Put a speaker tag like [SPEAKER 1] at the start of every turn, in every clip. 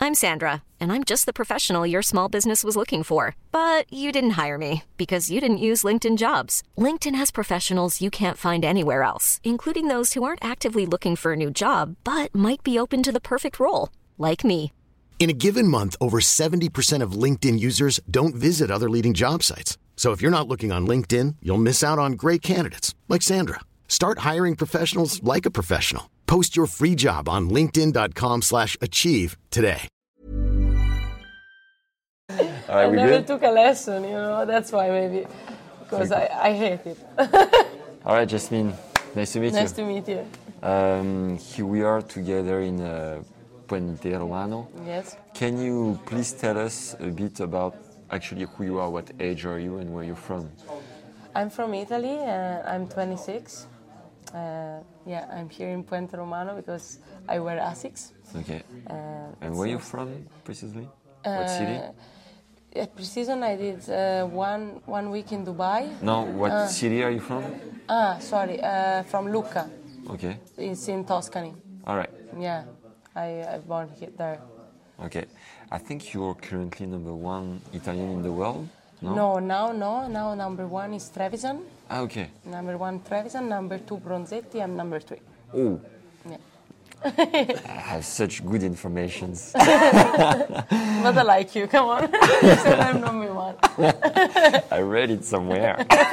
[SPEAKER 1] I'm Sandra, and I'm just the professional your small business was looking for. But you didn't hire me because you didn't use LinkedIn Jobs. LinkedIn has professionals you can't find anywhere else, including those who aren't actively looking for a new job, but might be open to the perfect role, like me.
[SPEAKER 2] In a given month, over 70% of LinkedIn users don't visit other leading job sites. So if you're not looking on LinkedIn, you'll miss out on great candidates like Sandra. Start hiring professionals like a professional. Post your free job on linkedin.com/achieve today.
[SPEAKER 3] I never took a lesson, that's why maybe, because I hate it.
[SPEAKER 4] All right, Jasmine, nice to meet you.
[SPEAKER 3] Nice to meet you.
[SPEAKER 4] Here we are together in Puente Romano.
[SPEAKER 3] Yes.
[SPEAKER 4] Can you please tell us a bit about actually who you are, what age are you, and where you're from?
[SPEAKER 3] I'm from Italy. I'm 26. I'm here in Puente Romano because I wear Asics.
[SPEAKER 4] Okay. And where are you from, precisely? What city?
[SPEAKER 3] At pre-season I did one week in Dubai.
[SPEAKER 4] No, what city are you from?
[SPEAKER 3] From Lucca.
[SPEAKER 4] Okay.
[SPEAKER 3] It's in Tuscany.
[SPEAKER 4] All right.
[SPEAKER 3] Yeah, I born there.
[SPEAKER 4] Okay. I think you're currently number one Italian in the world, no?
[SPEAKER 3] No, now number one is Trevisan.
[SPEAKER 4] Ah, okay.
[SPEAKER 3] Number one Trevisan, number two Bronzetti, I'm number three.
[SPEAKER 4] Oh.
[SPEAKER 3] Yeah.
[SPEAKER 4] I have such good information.
[SPEAKER 3] But I like you, come on. You said I'm number one.
[SPEAKER 4] I read it somewhere.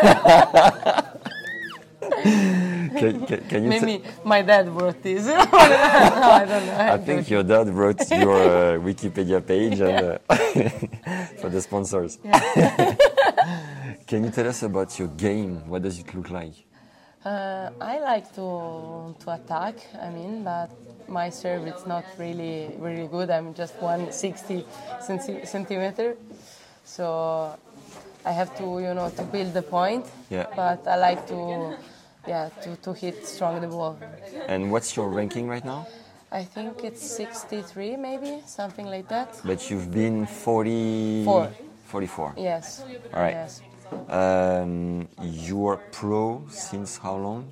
[SPEAKER 4] Can you
[SPEAKER 3] Maybe my dad wrote this. No, I don't know.
[SPEAKER 4] I think your dad wrote your Wikipedia page and, for the sponsors. Yeah. Can you tell us about your game? What does it look like?
[SPEAKER 3] I like to attack, but my serve is not really good. I'm just 160 centimeter, so I have to build the point.
[SPEAKER 4] Yeah.
[SPEAKER 3] But I like to hit strong the ball.
[SPEAKER 4] And what's your ranking right now?
[SPEAKER 3] I think it's 63, maybe something like that.
[SPEAKER 4] But you've been 44.
[SPEAKER 3] Yes.
[SPEAKER 4] All right.
[SPEAKER 3] Yes.
[SPEAKER 4] You're pro since how long?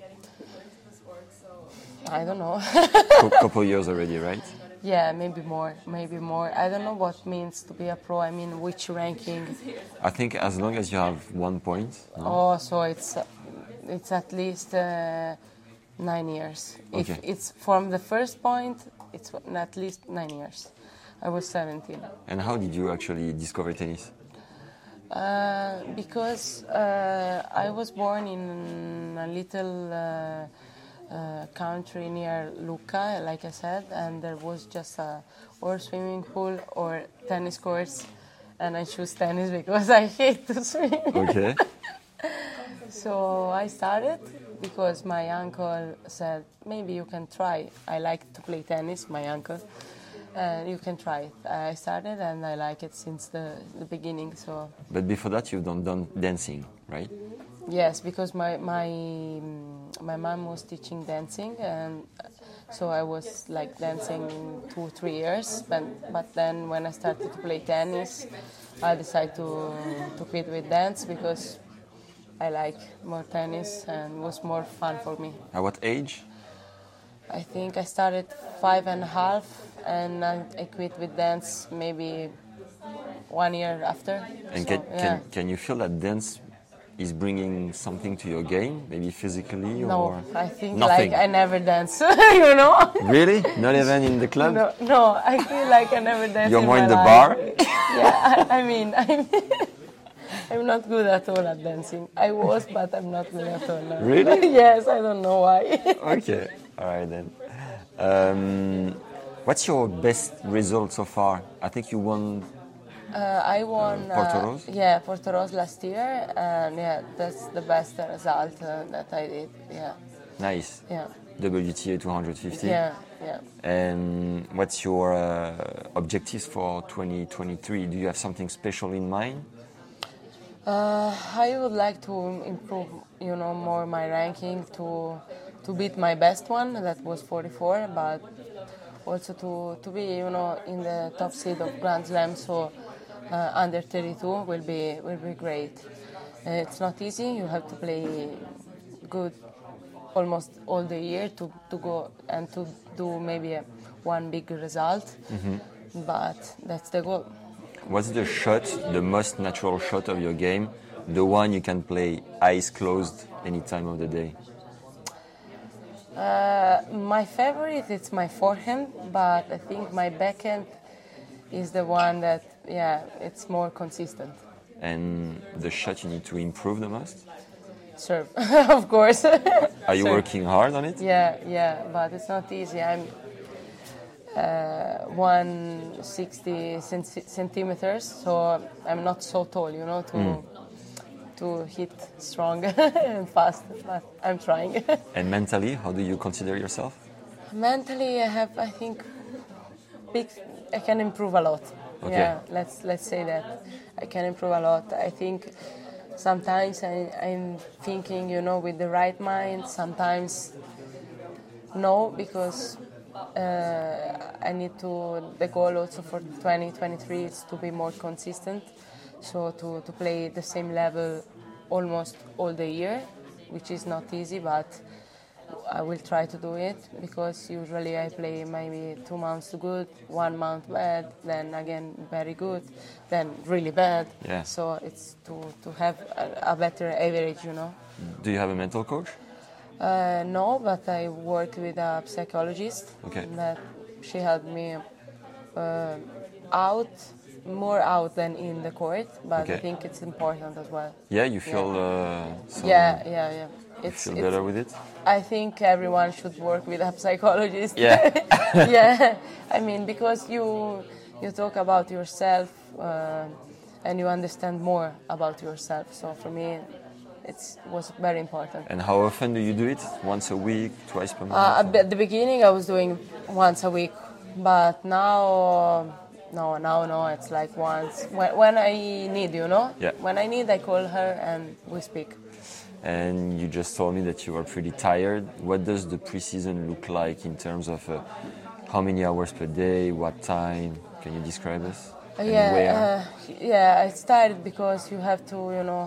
[SPEAKER 3] I don't know.
[SPEAKER 4] Couple years already, right?
[SPEAKER 3] Yeah, maybe more. I don't know what means to be a pro. Which ranking?
[SPEAKER 4] I think as long as you have 1 point. No?
[SPEAKER 3] Oh, so it's at least 9 years.
[SPEAKER 4] Okay.
[SPEAKER 3] If it's from the first point, it's at least 9 years. I was 17.
[SPEAKER 4] And how did you actually discover tennis?
[SPEAKER 3] Because I was born in a little country near Lucca, like I said, and there was just or swimming pool or tennis courts, and I chose tennis because I hate to swim.
[SPEAKER 4] Okay.
[SPEAKER 3] So I started because my uncle said, maybe you can try. I like to play tennis, my uncle. You can try it. I started and I like it since the beginning. So.
[SPEAKER 4] But before that, you've done dancing, right?
[SPEAKER 3] Yes, because my mom was teaching dancing, and so I was like dancing 2-3 years. But then when I started to play tennis, I decided to quit with dance because I like more tennis and it was more fun for me.
[SPEAKER 4] At what age?
[SPEAKER 3] I think I started 5.5 and I quit with dance maybe 1 year after.
[SPEAKER 4] And
[SPEAKER 3] so,
[SPEAKER 4] can you feel that dance is bringing something to your game, maybe physically?
[SPEAKER 3] No,
[SPEAKER 4] or
[SPEAKER 3] I think
[SPEAKER 4] nothing?
[SPEAKER 3] like I never dance, you know?
[SPEAKER 4] Really? Not even in the club?
[SPEAKER 3] No, I feel like I never dance.
[SPEAKER 4] You're more in the
[SPEAKER 3] life.
[SPEAKER 4] bar?
[SPEAKER 3] Yeah, I'm not good at all at dancing. I was, but I'm not good at all now.
[SPEAKER 4] Really?
[SPEAKER 3] Yes, I don't know why.
[SPEAKER 4] Okay, all right then. What's your best result so far? I think you won.
[SPEAKER 3] I won
[SPEAKER 4] Portoroz?
[SPEAKER 3] Portoroz last year, and that's the best result that I did. Yeah.
[SPEAKER 4] Nice.
[SPEAKER 3] Yeah.
[SPEAKER 4] WTA 250.
[SPEAKER 3] Yeah.
[SPEAKER 4] And what's your objectives for 2023? Do you have something special in mind?
[SPEAKER 3] I would like to improve, more my ranking to beat my best one that was 44, but also to be, in the top seed of Grand Slam. So. Under 32 will be great. It's not easy. You have to play good almost all the year to go and to do maybe one big result.
[SPEAKER 4] Mm-hmm.
[SPEAKER 3] but that's the goal.
[SPEAKER 4] What's the shot, the most natural shot of your game, the one you can play eyes closed any time of the day?
[SPEAKER 3] My favorite is my forehand, but I think my backhand is the one that, it's more consistent.
[SPEAKER 4] And the shot you need to improve the most?
[SPEAKER 3] Serve, of course.
[SPEAKER 4] Are you working hard on it?
[SPEAKER 3] Yeah, but it's not easy. I'm 160 centimeters, so I'm not so tall, to hit strong and fast, but I'm trying.
[SPEAKER 4] And mentally, how do you consider yourself?
[SPEAKER 3] Mentally, I think, I can improve a lot.
[SPEAKER 4] Okay.
[SPEAKER 3] Yeah, let's say that. I can improve a lot. I think sometimes I'm thinking, with the right mind. Sometimes no, because I need to. The goal also for 2023 is to be more consistent. So to play the same level almost all the year, which is not easy, but I will try to do it, because usually I play maybe 2 months good, 1 month bad, then again very good, then really bad.
[SPEAKER 4] Yeah.
[SPEAKER 3] So it's to have a better average,
[SPEAKER 4] Do you have a mental coach?
[SPEAKER 3] No, but I work with a psychologist.
[SPEAKER 4] Okay.
[SPEAKER 3] That she helped me more out than in the court, but
[SPEAKER 4] Okay.
[SPEAKER 3] I think it's important as well.
[SPEAKER 4] Yeah, you feel
[SPEAKER 3] Yeah.
[SPEAKER 4] feel better with it?
[SPEAKER 3] I think everyone should work with a psychologist.
[SPEAKER 4] Yeah.
[SPEAKER 3] Yeah, I mean, because you talk about yourself and you understand more about yourself. So for me, it was very important.
[SPEAKER 4] And how often do you do it? Once a week, twice per month?
[SPEAKER 3] At the beginning, I was doing once a week, but now, no, it's like once when I need,
[SPEAKER 4] Yeah.
[SPEAKER 3] When I need, I call her and we speak.
[SPEAKER 4] And you just told me that you are pretty tired. What does the preseason look like in terms of how many hours per day, what time? Can you describe us? And where?
[SPEAKER 3] I started because you have to,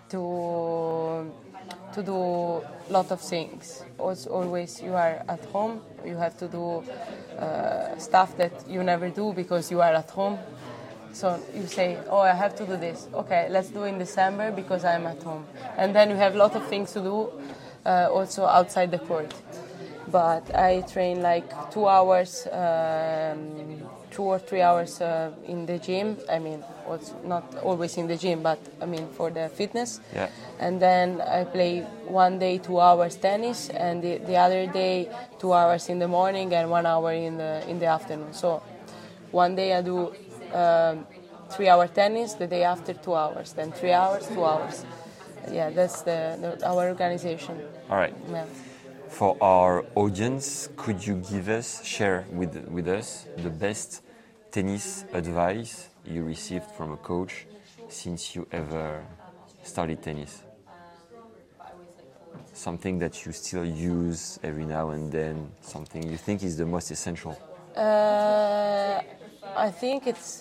[SPEAKER 3] to do a lot of things. Also, always you are at home, you have to do stuff that you never do because you are at home. So you say, I have to do this. Okay, let's do in December because I'm at home. And then you have a lot of things to do also outside the court. But I train like 2 hours, 2 or 3 hours in the gym. I mean, also not always in the gym, but I mean for the fitness.
[SPEAKER 4] Yeah.
[SPEAKER 3] And then I play one day 2 hours tennis, and the other day 2 hours in the morning and 1 hour in the afternoon. So one day I do 3 hour tennis, the day after 2 hours, then 3 hours, 2 hours. Yeah, that's our organization.
[SPEAKER 4] All right.
[SPEAKER 3] Yeah.
[SPEAKER 4] For our audience, could you share with us the best tennis advice you received from a coach since you ever started tennis? Something that you still use every now and then, something you think is the most essential?
[SPEAKER 3] I think it's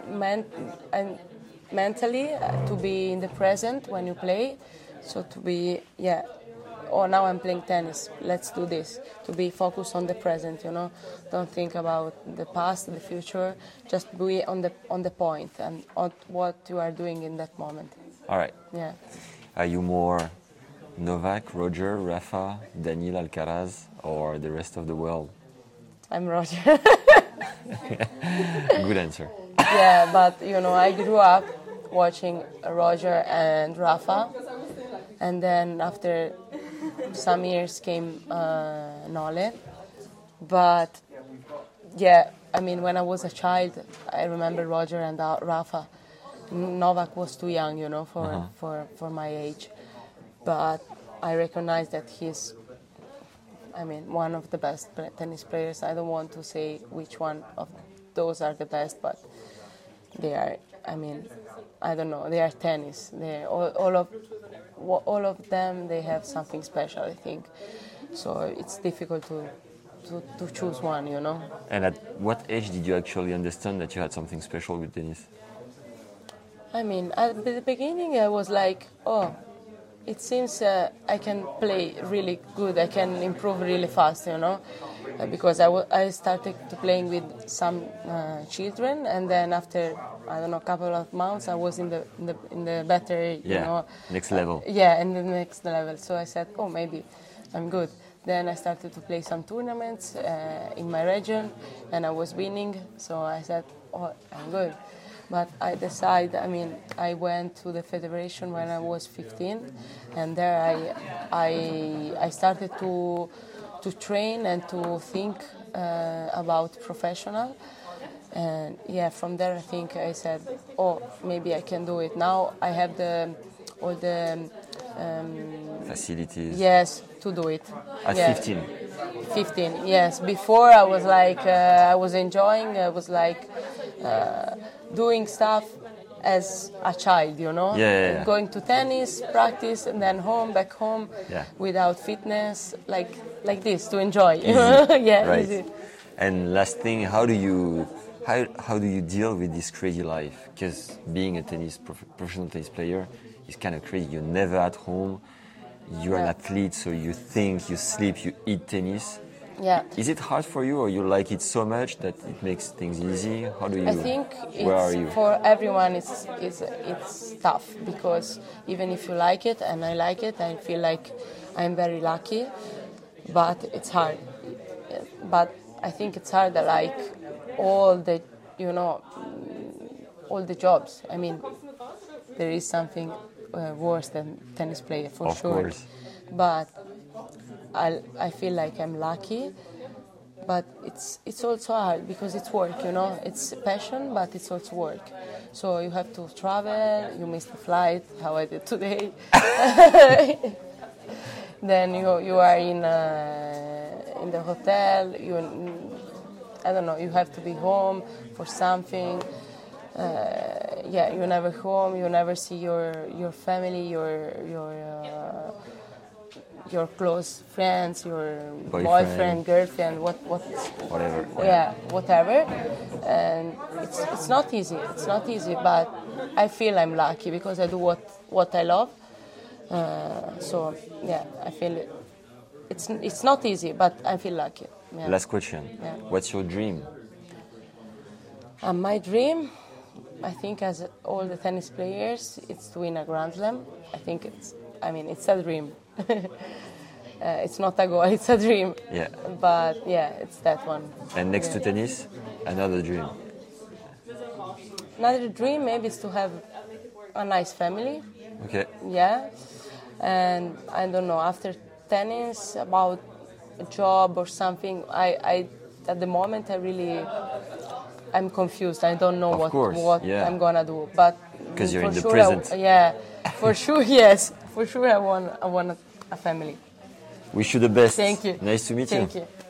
[SPEAKER 3] mentally to be in the present when you play. So to be, now I'm playing tennis, let's do this. To be focused on the present, Don't think about the past, the future. Just be on the point and on what you are doing in that moment.
[SPEAKER 4] All right.
[SPEAKER 3] Yeah.
[SPEAKER 4] Are you more Novak, Roger, Rafa, Daniil Alcaraz, or the rest of the world?
[SPEAKER 3] I'm Roger.
[SPEAKER 4] Good answer.
[SPEAKER 3] Yeah, but I grew up watching Roger and Rafa, and then after some years came Nole. But I mean, when I was a child, I remember Roger and Rafa. Novak was too young, for my age. But I recognize that he's, one of the best tennis players. I don't want to say which one of those are the best, but they are, I don't know, they are tennis. All of them, they have something special, I think. So it's difficult to choose one,
[SPEAKER 4] And at what age did you actually understand that you had something special with tennis?
[SPEAKER 3] At the beginning I was like, it seems I can play really good. I can improve really fast, because I started to playing with some children, and then after I don't know a couple of months I was in the better
[SPEAKER 4] next level.
[SPEAKER 3] In the next level. So I said, oh, maybe I'm good. Then I started to play some tournaments in my region, and I was winning. So I said, oh, I'm good. But I went to the federation when I was 15, and there I started to train and to think about professional. And from there I think I said, oh, maybe I can do it. Now I have all the
[SPEAKER 4] facilities.
[SPEAKER 3] Yes, to do it.
[SPEAKER 4] At 15.
[SPEAKER 3] 15, yes. Before I was like, I was enjoying. I was like doing stuff as a child, going to tennis, practice, and then back home, without fitness, like this, to enjoy.
[SPEAKER 4] Right.
[SPEAKER 3] Easy.
[SPEAKER 4] And last thing, how do you deal with this crazy life? Because being a professional tennis player is kind of crazy. You're never at home. You're an athlete, so you think, you sleep, you eat tennis.
[SPEAKER 3] Yeah.
[SPEAKER 4] Is it hard for you, or you like it so much that it makes things easy? How do you?
[SPEAKER 3] I think
[SPEAKER 4] where are you?
[SPEAKER 3] For everyone it's tough, because even if you like it and I like it, I feel like I'm very lucky, but it's hard. But I think it's hard, like all the jobs. I mean, there is something worse than tennis player for
[SPEAKER 4] of
[SPEAKER 3] sure.
[SPEAKER 4] Course.
[SPEAKER 3] But I feel like I'm lucky, but it's also hard because it's work, It's passion, but it's also work. So you have to travel. You miss the flight, how I did today. Then you are in the hotel. I don't know. You have to be home for something. You're never home. You never see your family, your close friends, your boyfriend, girlfriend,
[SPEAKER 4] whatever.
[SPEAKER 3] Yeah, whatever. And it's not easy. It's not easy, but I feel I'm lucky because I do what I love. I feel it's not easy, but I feel lucky. Yeah.
[SPEAKER 4] Last question.
[SPEAKER 3] Yeah.
[SPEAKER 4] What's your dream?
[SPEAKER 3] My dream, I think, as all the tennis players, it's to win a Grand Slam. I think it's a dream. It's not a goal, it's a dream.
[SPEAKER 4] Yeah.
[SPEAKER 3] But it's that one.
[SPEAKER 4] And next to tennis, another dream.
[SPEAKER 3] Another dream maybe is to have a nice family.
[SPEAKER 4] Okay.
[SPEAKER 3] Yeah. And I don't know, after tennis, about a job or something, I at the moment I'm confused. I don't know what I'm gonna do. But
[SPEAKER 4] because you're in the
[SPEAKER 3] sure
[SPEAKER 4] present.
[SPEAKER 3] For sure, yes. For sure I want a family.
[SPEAKER 4] Wish you the best.
[SPEAKER 3] Thank you.
[SPEAKER 4] Nice to meet you.
[SPEAKER 3] Thank you.